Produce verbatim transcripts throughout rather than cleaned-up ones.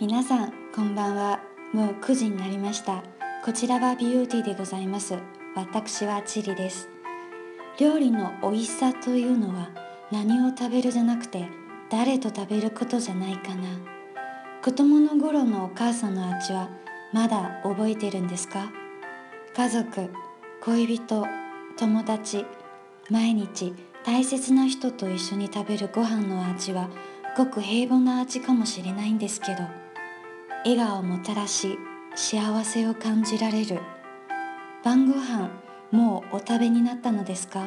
皆さんこんばんは。もうくじになりました。こちらはビューティーでございます。私はチリです。料理の美味しさというのは何を食べるじゃなくて誰と食べることじゃないかな。子供の頃のお母さんの味はまだ覚えてるんですか？家族、恋人、友達、毎日大切な人と一緒に食べるご飯の味はごく平凡な味かもしれないんですけど、笑顔をもたらし幸せを感じられる。晩ご飯もうお食べになったのですか？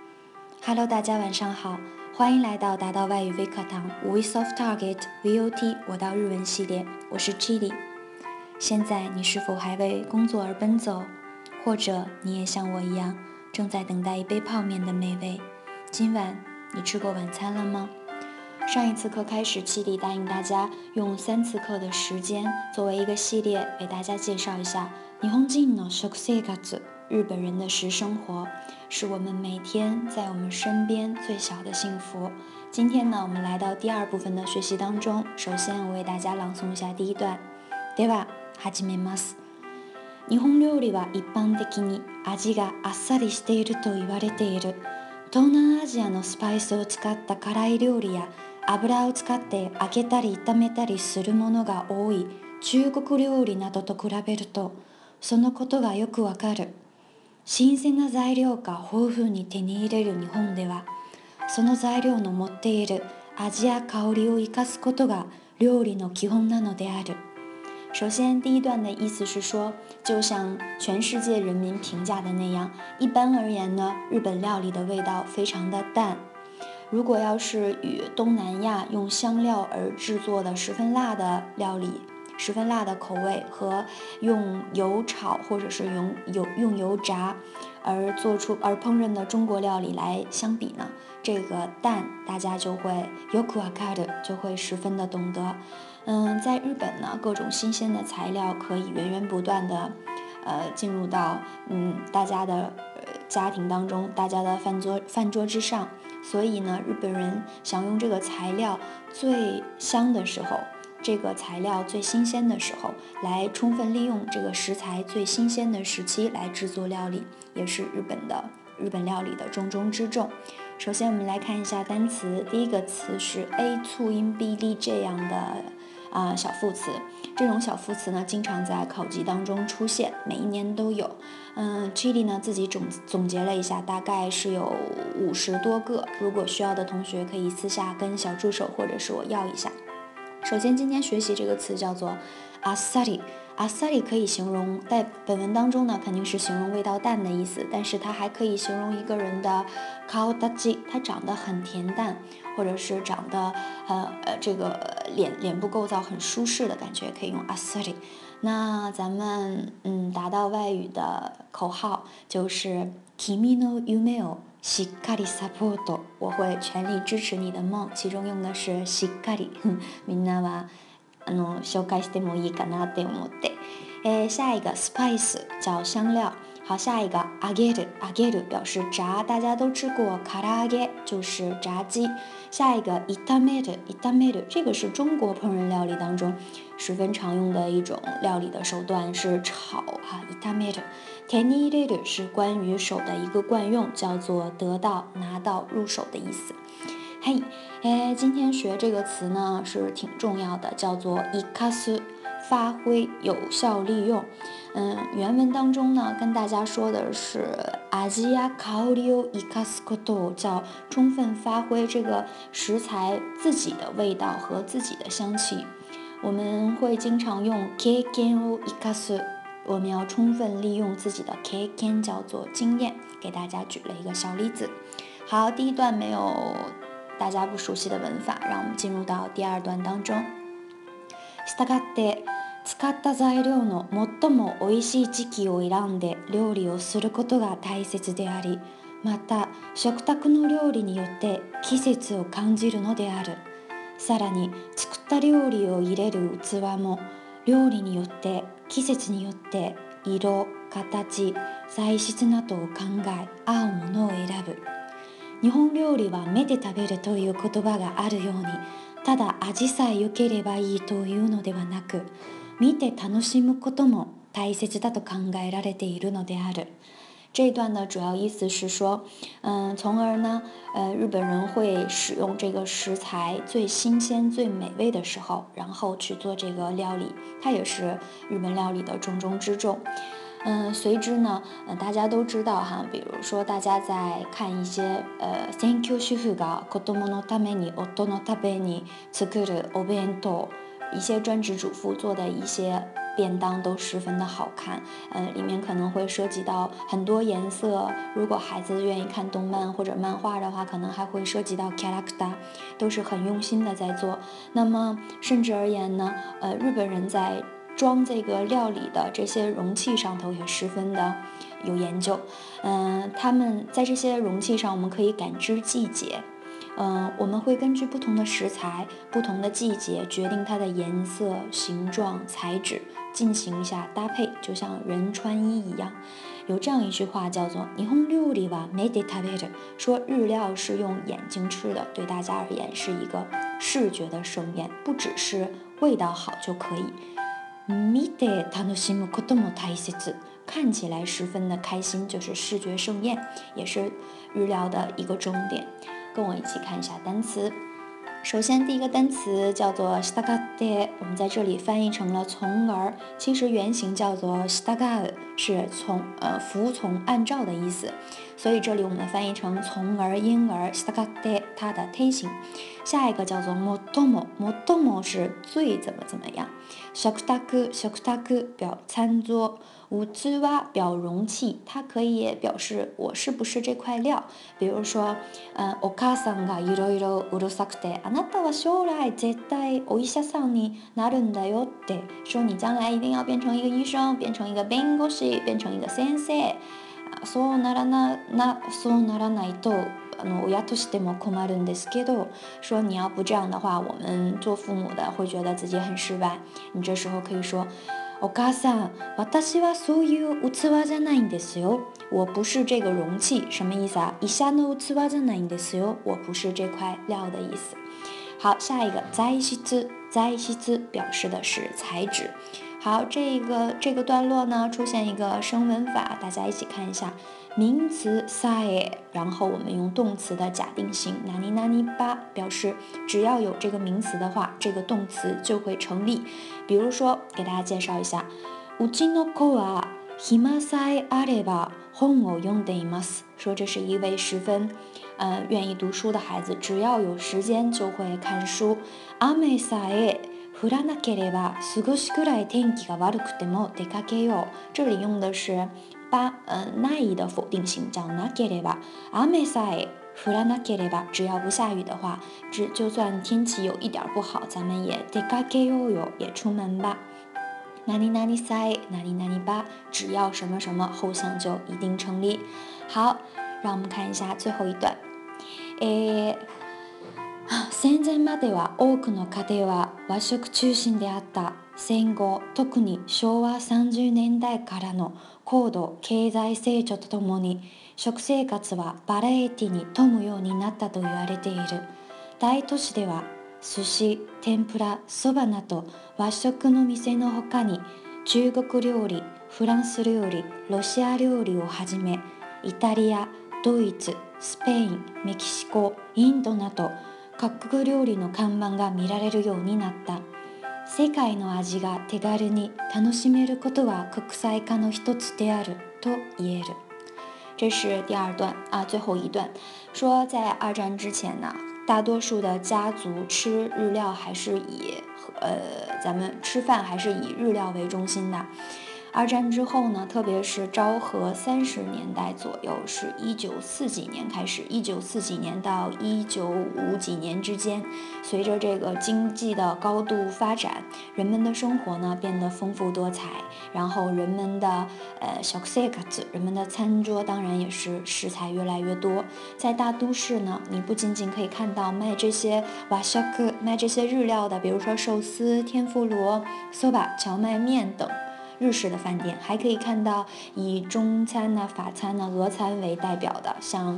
Hello， 大家晚上好，欢迎来到达到外语微课堂 Voice of Target V O T 我到日文系列，我是 Chili。现在你是否还为工作而奔走？或者你也像我一样正在等待一杯泡面的美味？今晚你吃过晚餐了吗？上一次课开始，七里答应大家用三次课的时间作为一个系列为大家介绍一下日本人の食生活，日本人的食生活，是我们每天在我们身边最小的幸福。今天呢，我们来到第二部分的学习当中，首先我为大家朗诵一下第一段。では始めます。日本料理は一般的に味があっさりしていると言われている。東南アジアのスパイスを使った辛い料理や油を使って揚げたり炒めたりするものが多い中国料理などと比べると、そのことがよくわかる。新鮮な材料が豊富に手に入れる日本では、その材料の持っている味や香りを生かすことが料理の基本なのである。首先，第一段的意思是说，就像全世界人民评价的那样，一般而言呢，日本料理的味道非常的淡。如果要是与东南亚用香料而制作的十分辣的料理，十分辣的口味和用油炒或者是用油用油炸而做出而烹饪的中国料理来相比呢，这个淡大家就会よくわかる，就会十分的懂得。嗯，在日本呢，各种新鲜的材料可以源源不断的，呃，进入到嗯大家的呃家庭当中，大家的饭桌饭桌之上。所以呢，日本人想用这个材料最香的时候，这个材料最新鲜的时候，来充分利用这个食材最新鲜的时期来制作料理，也是日本的日本料理的重中之重。首先，我们来看一下单词，第一个词是 a 促音 b 例这样的啊、呃、小副词。这种小副词呢，经常在考级当中出现，每一年都有。嗯 Chili 呢自己总总结了一下，大概是有五十多个。如果需要的同学可以私下跟小助手或者是我要一下。首先，今天学习这个词叫做あっさり。あっさり可以形容，在本文当中呢，肯定是形容味道淡的意思，但是它还可以形容一个人的顔立ち，他长得很恬淡，或者是长得呃呃这个脸脸部构造很舒适的感觉，可以用あっさり。那咱们嗯达到外语的口号就是君の夢をしっかりサポート，我会全力支持你的梦，其中用的是しっかり。みんなはあの紹介してもいいかなって思って。え下一个 spice 叫香料。好，下一个揚げる，揚げる表示炸，大家都吃过唐揚げ，就是炸鸡。下一个炒める，炒める这个是中国烹饪料理当中十分常用的一种料理的手段，是炒哈。炒める，手に入れる是关于手的一个惯用，叫做得到、拿到、入手的意思。嘿，哎，今天学这个词呢是挺重要的，叫做生かす，发挥、有效利用。嗯，原文当中呢跟大家说的是味や香りを生かすこと，叫充分发挥这个食材自己的味道和自己的香气。我们会经常用経験を生かす，我们要充分利用自己的経験，叫做经验。给大家举了一个小例子。好，第一段没有大家不熟悉的文法，让我们进入到第二段当中。したがって使った材料の最も美味しい時期を選んで料理をすることが大切であり、また食卓の料理によって季節を感じるのである。さらに作った料理を入れる器も料理によって季節によって色、形、材質などを考え合うものを選ぶ。日日本料理は目で食べるという言葉があるように、ただ味さえ良ければいいというのではなく、見て楽しむことも大切だと考えられているのである。这一段的主要意思是说，嗯，从而呢，呃，日本人会使用这个食材最新鲜、最美味的时候，然后去做这个料理，它也是日本料理的重中之重。嗯，随之呢，呃，大家都知道哈，比如说大家在看一些呃，専業主婦が子供のために夫のために作るお弁当，一些专职主妇做的一些便当都十分的好看，呃，里面可能会涉及到很多颜色。如果孩子愿意看动漫或者漫画的话，可能还会涉及到 character， 都是很用心的在做。那么甚至而言呢，呃，日本人在装这个料理的这些容器上头也十分的有研究。嗯、呃，他们在这些容器上，我们可以感知季节。嗯、呃，我们会根据不同的食材、不同的季节决定它的颜色、形状、材质，进行一下搭配，就像人穿衣一样。有这样一句话叫做“日本料理は目で食べる”，说日料是用眼睛吃的，对大家而言是一个视觉的盛宴，不只是味道好就可以。見て楽しむことも大切，看起来十分的开心，就是视觉盛宴，也是日料的一个重点。跟我一起看一下单词。首先第一个单词叫做従って，我们在这里翻译成了从而，其实原型叫做従う，是从呃服从、按照的意思，所以这里我们翻译成从而、因而。従って它的推形。下一个叫做最も，最も是最怎么怎么样。食卓，食卓表餐桌。器表容器，它可以表示我是不是这块料。比如说，嗯，お母さんがいろいろうるさくて、あなたは将来絶対お医者さんになるんだよって，说你将来一定要变成一个医生，变成一个弁護士，变成一个先生。そうならな、な、そうならないと。あの親としても困るんですけど，说你要不这样的话，我们做父母的会觉得自己很失败。你这时候可以说。お母さん、私はそういう器じゃないんですよ。我不是这个容器，什么意思啊？医者の器じゃないんですよ。我不是这块料的意思。好，下一个材質，材質表示的是材质。好，这个这个段落呢出现一个声文法，大家一起看一下。名词さえ，然后我们用动词的假定型何々ば表示，只要有这个名词的话，这个动词就会成立。比如说，给大家介绍一下，うちの子は暇さえあれば本を読んでいます。说这是一位十分，呃，愿意读书的孩子，只要有时间就会看书。雨さえ降らなければ少しくらい天気が悪くても出かけよう。这里用的是把呃ない的否定型，叫なければ。雨さえ降らなければ，只要不下雨的话，只就算天气有一点不好，咱们也出かけようよ，也出门吧。何々さえ何々ば，只要什么什么，后项就一定成立。好，让我们看一下最后一段。诶。戦前までは多くの家庭は和食中心であった戦後、特に昭和さんじゅうねんだいからの高度経済成長とともに食生活はバラエティに富むようになったと言われている。大都市では寿司、天ぷら、そばなど和食の店のほかに中国料理、フランス料理、ロシア料理をはじめイタリア、ドイツ、スペイン、メキシコ、インドなど各国料理の看板が見られるようになった。世界の味が手軽に楽しめることは国際化の一つであると言える。这是第二段啊，最后一段说，在二战之前呢，大多数的家族吃日料还是以呃，咱们吃饭还是以日料为中心的。二战之后呢，特别是昭和三十年代左右，是一九四几年开始，一九四几年到一九五几年之间，随着这个经济的高度发展，人们的生活呢变得丰富多彩，然后人们的呃小生活，人们的餐桌当然也是食材越来越多。在大都市呢，你不仅仅可以看到卖这些瓦夏克、卖这些日料的，比如说寿司、天妇罗、soba、荞麦面等。日式的饭店还可以看到以中餐呐、法餐呐、俄餐为代表的，像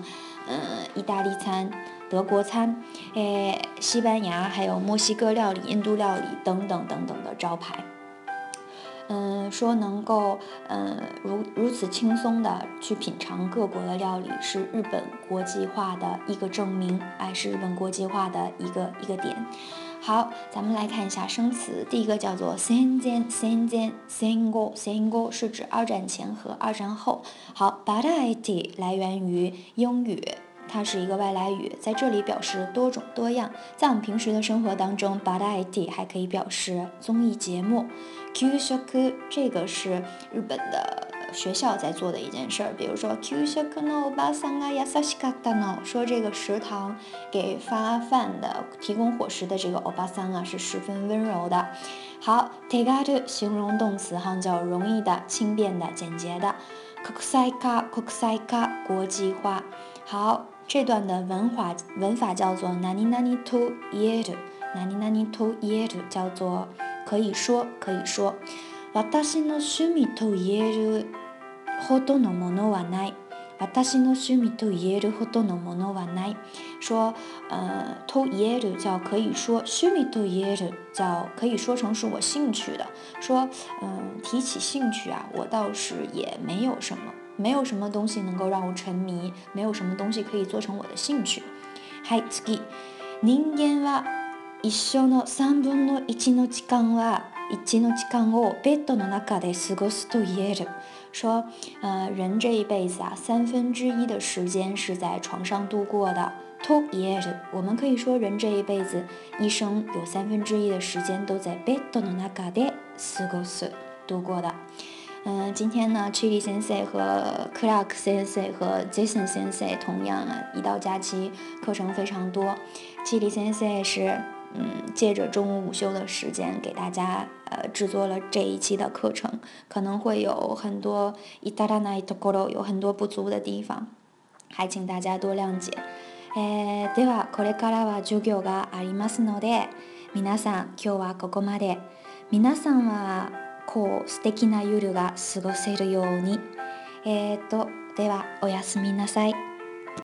嗯，意大利餐、德国餐，诶，西班牙还有墨西哥料理、印度料理等等等等的招牌。嗯，说能够嗯如如此轻松的去品尝各国的料理，是日本国际化的一个证明，哎，是日本国际化的一个一个点。好，咱们来看一下生词，第一个叫做戦前、戦前、戦後、戦後是指二战前和二战后。好，バラエティ来源于英语。它是一个外来语，在这里表示多种多样。在我们平时的生活当中，バラエティ还可以表示综艺节目。給食这个是日本的学校在做的一件事儿，比如说給食のおばさんが優しかったの，说这个食堂给发饭的、提供伙食的这个おばさん啊是十分温柔的。好，手軽形容动词哈，叫容易的、轻便的、简洁的。国際化、国際化国际化。好。这段的文法文法叫做何々と言える，何々と言える叫做可以说，可以说。私の趣味と言えるほどのものはない。私の趣味と言えるほどのものはない。说，呃，と言える叫可以说，趣味と言える叫可以说成是我兴趣的。说，嗯，提起兴趣啊，我倒是也没有什么。没有什么东西能够让我沉迷，没有什么东西可以做成我的兴趣。はい、次。人間は一生の三分の一の時間は一の時間をベッドの中で過ごすと言える。说，呃，人这一辈子啊，三分之一的时间是在床上度过的。と言える，我们可以说人这一辈子一生有三分之一的时间都在ベッドの中で過ごす度过的。嗯，今天呢 Chili 先生和 Clark 先生和 Jason 先生同样啊，一到假期课程非常多。Chili 先生是嗯，借着中午午休的时间给大家呃制作了这一期的课程，可能会有很多至らないところ有很多不足的地方，还請大家多諒解。えー、ではこれからは授業がありますので、皆さん今日はここまで。皆さんはこう素敵な夜が過ごせるように。えーと、ではおやすみなさい。